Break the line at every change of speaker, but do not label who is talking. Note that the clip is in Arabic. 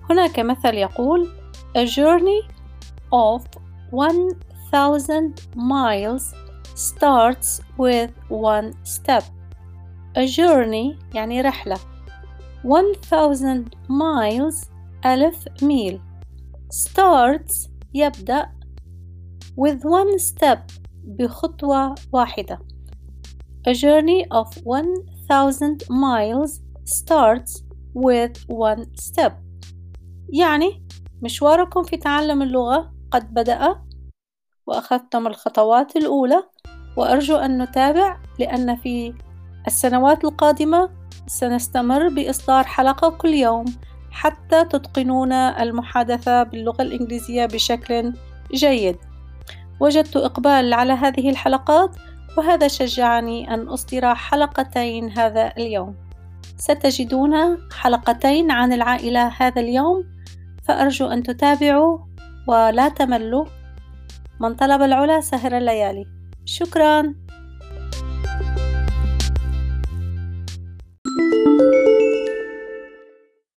هناك مثل يقول A journey of 1000 miles starts with one step. A journey يعني رحلة. 1000 miles 1000 ميل. starts يبدأ with one step بخطوة واحدة. A journey of 1000 miles starts with one step. يعني مشواركم في تعلم اللغة قد بدأ وأخذتم الخطوات الأولى، وأرجو أن نتابع لأن في السنوات القادمة سنستمر بإصدار حلقة كل يوم حتى تتقنون المحادثة باللغة الإنجليزية بشكل جيد. وجدت إقبال على هذه الحلقات، وهذا شجعني أن أصدر حلقتين هذا اليوم. ستجدون حلقتين عن العائلة هذا اليوم، فأرجو أن تتابعوا ولا تملوا. من طلب العلا سهر الليالي. شكراً.